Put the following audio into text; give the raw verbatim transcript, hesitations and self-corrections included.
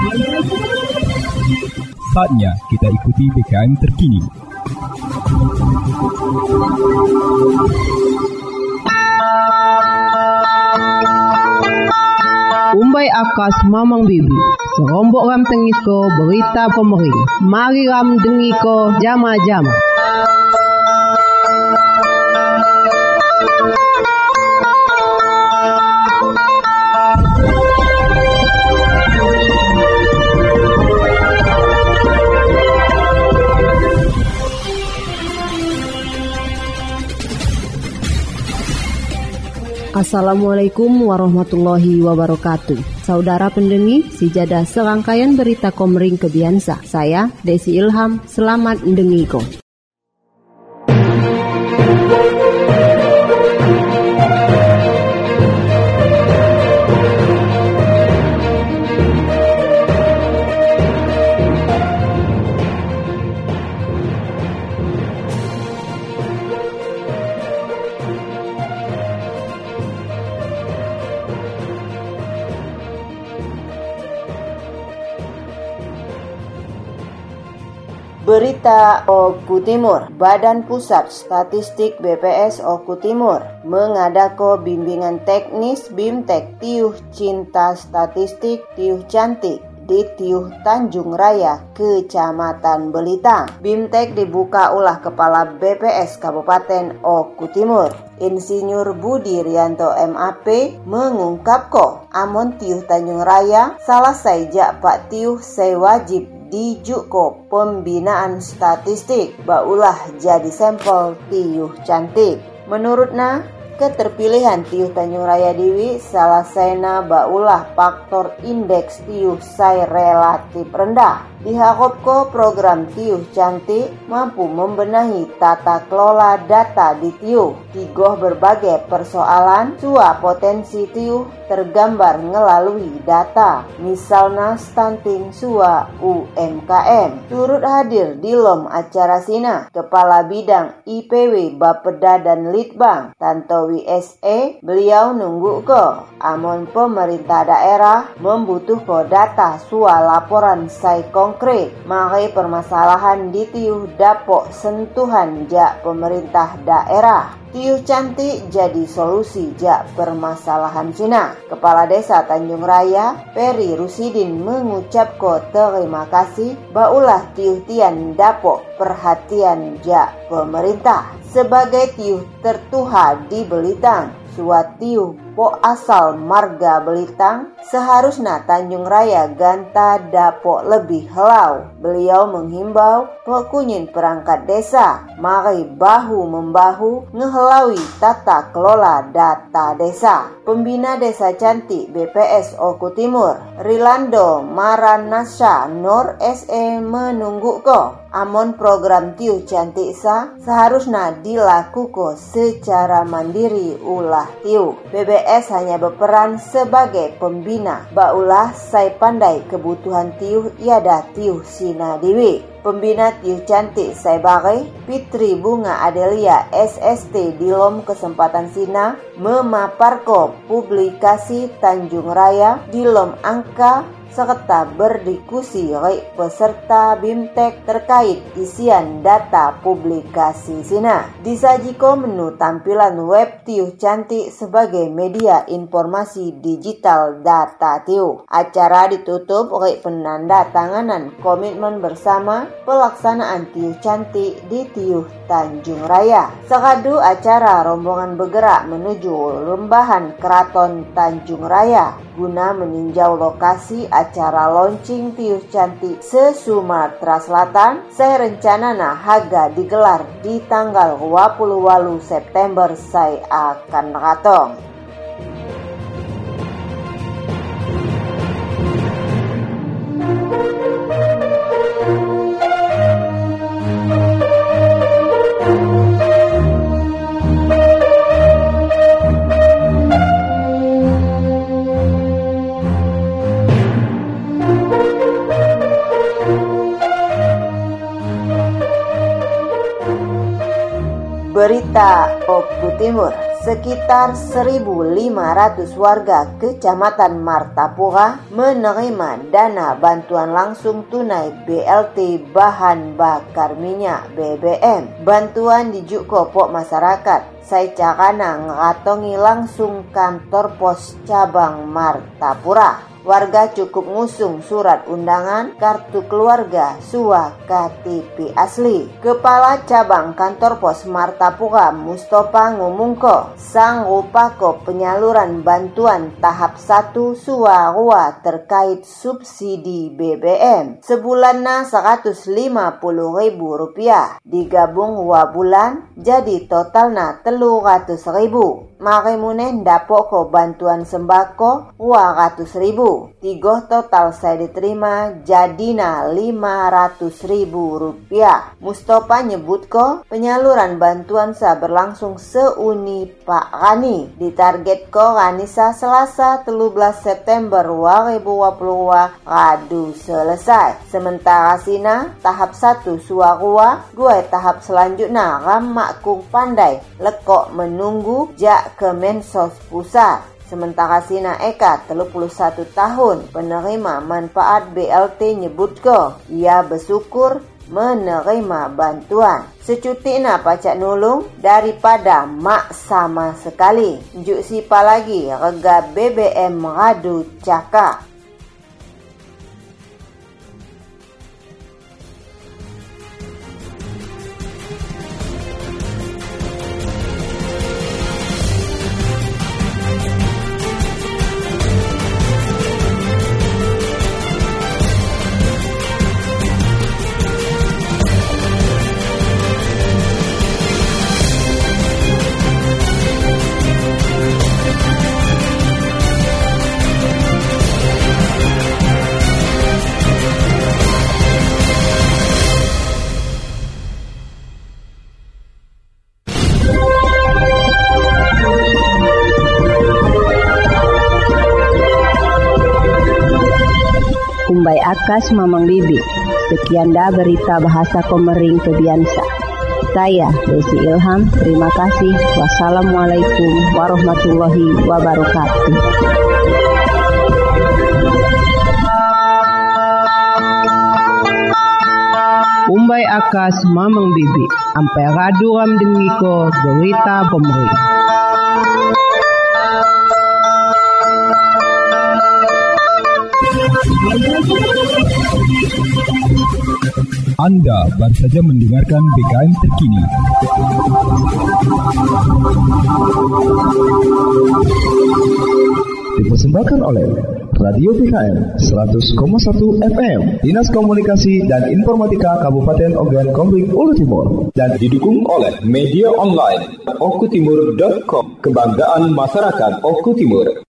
Saatnya kita ikuti B K M terkini. Umbai akas mamang bibi, serombok ram tengiko berita pemerintah. Mari ram dengiko jama-jama. Assalamualaikum warahmatullahi wabarakatuh. Saudara pendengi, sejadah serangkaian berita Komering Kebiansa. Saya Desi Ilham, selamat mendengiko. Berita Oku Timur. Badan Pusat Statistik B P S Oku Timur mengadako bimbingan teknis BIMTEK Tiuh Cinta Statistik Tiuh Cantik di Tiuh Tanjung Raya, Kecamatan Belitang. BIMTEK dibuka ulah Kepala B P S Kabupaten Oku Timur, Insinyur Budi Rianto M A P mengungkapko amon Tiuh Tanjung Raya salah saja Pak Tiuh saya wajib dijuko pembinaan statistik baulah jadi sampel Tiuh Cantik. Menurutnya, keterpilihan Tiuh Tanjung Raya Dewi salah sena baulah faktor indeks Tiuh sai relatif rendah. Dihakopko program Tiuh Cantik mampu membenahi tata kelola data di Tiuh. Tigoh berbagai persoalan sua potensi Tiuh tergambar melalui data. Misalnya stunting sua U M K M. Turut hadir di lom acara sina Kepala Bidang I P W Bapeda dan Litbang Tantowi S E. Beliau nunggu ko amon pemerintah daerah membutuhkan data sua laporan sai konkret, makai permasalahan di Tiuh dapok sentuhan jak pemerintah daerah. Tiuh Cantik jadi solusi jak permasalahan sina. Kepala Desa Tanjung Raya Peri Rusidin mengucapkan terima kasih baulah Tiuh Tian dapok perhatian jak pemerintah. Sebagai Tiuh tertuha di Belitang, suatiuh po asal marga Belitang, seharusnya Tanjung Raya ganta dapok lebih helau. Beliau menghimbau pekunyin perangkat desa mari bahu-membahu ngehelaui tata kelola data desa. Pembina Desa Cantik B P S Oku Timur, Rilando Maranasya Nur S E menunggu ko amon program Tiuh Cantik sa seharusnya dilakukan secara mandiri ulah Tiuh. B B S hanya berperan sebagai pembina, baulah sai pandai kebutuhan Tiuh iada Tiuh sina dewi. Pembina Tiuh Cantik sai bagai Fitri Bunga Adelia S S T di lom kesempatan sina memaparko publikasi Tanjung Raya di lom angka serta berdiskusi oleh peserta BIMTEK terkait isian data publikasi sina. Disajiko menu tampilan web Tiuh Cantik sebagai media informasi digital data Tiuh. Acara ditutup oleh penandatanganan komitmen bersama pelaksanaan Tiuh Cantik di Tiuh Tanjung Raya. Sekadu acara rombongan bergerak menuju Lembahan Keraton Tanjung Raya guna meninjau lokasi acara launching Tiuh Cantik se-Sumatera Selatan. Saya rencanana haga digelar di tanggal dua puluh delapan September saya akan ratong. Berita Oku Timur. sekitar seribu lima ratus warga Kecamatan Martapura menerima dana bantuan langsung tunai B L T bahan bakar minyak B B M. Bantuan dijuko pok masyarakat. Saya carana ngatongi langsung kantor pos cabang Martapura. Warga cukup ngusung surat undangan, kartu keluarga, suah K T P asli. Kepala cabang kantor pos Martapura Mustafa ngumungko, sang rupako penyaluran bantuan tahap satu suah rua terkait subsidi B B M. Sebulanna seratus lima puluh ribu rupiah, digabung dua bulan jadi totalna telur ratus ribu. Mari muneh dapok ko bantuan sembako dua ratus ribu. Tiga total saya diterima jadina lima ratus ribu rupiah. Mustafa nyebut ko penyaluran bantuan sa berlangsung seuni Pak Rani. Ditarget ko Ranisa Selasa tiga belas September dua ribu dua puluh dua radu selesai. Sementara sina tahap satu suarua, gue tahap selanjutnya ramak kung pandai lekok menunggu jak ke Mensos Pusat. Sementara Sina Eka tiga puluh satu tahun penerima manfaat B L T nyebut ko ia bersyukur menerima bantuan. Secutina pacak nulung daripada mak sama sekali. Juk sipa lagi rega B B M radu cakap. Kumbai akas Mamang Bibi. Sekian dah berita bahasa Komering Kebiansa. Saya Desi Ilham. Terima kasih. Wassalamualaikum warahmatullahi wabarakatuh. Kumbai akas Mamang Bibi. Ampai radu ram dengiko berita Komering. Anda baru saja mendengarkan B K M terkini. Dipersembahkan oleh Radio B K M seratus koma satu F M, Dinas Komunikasi dan Informatika Kabupaten Ogan Komering Ulu Timur, dan didukung oleh media online okutimur dot com, kebanggaan masyarakat Oku Timur.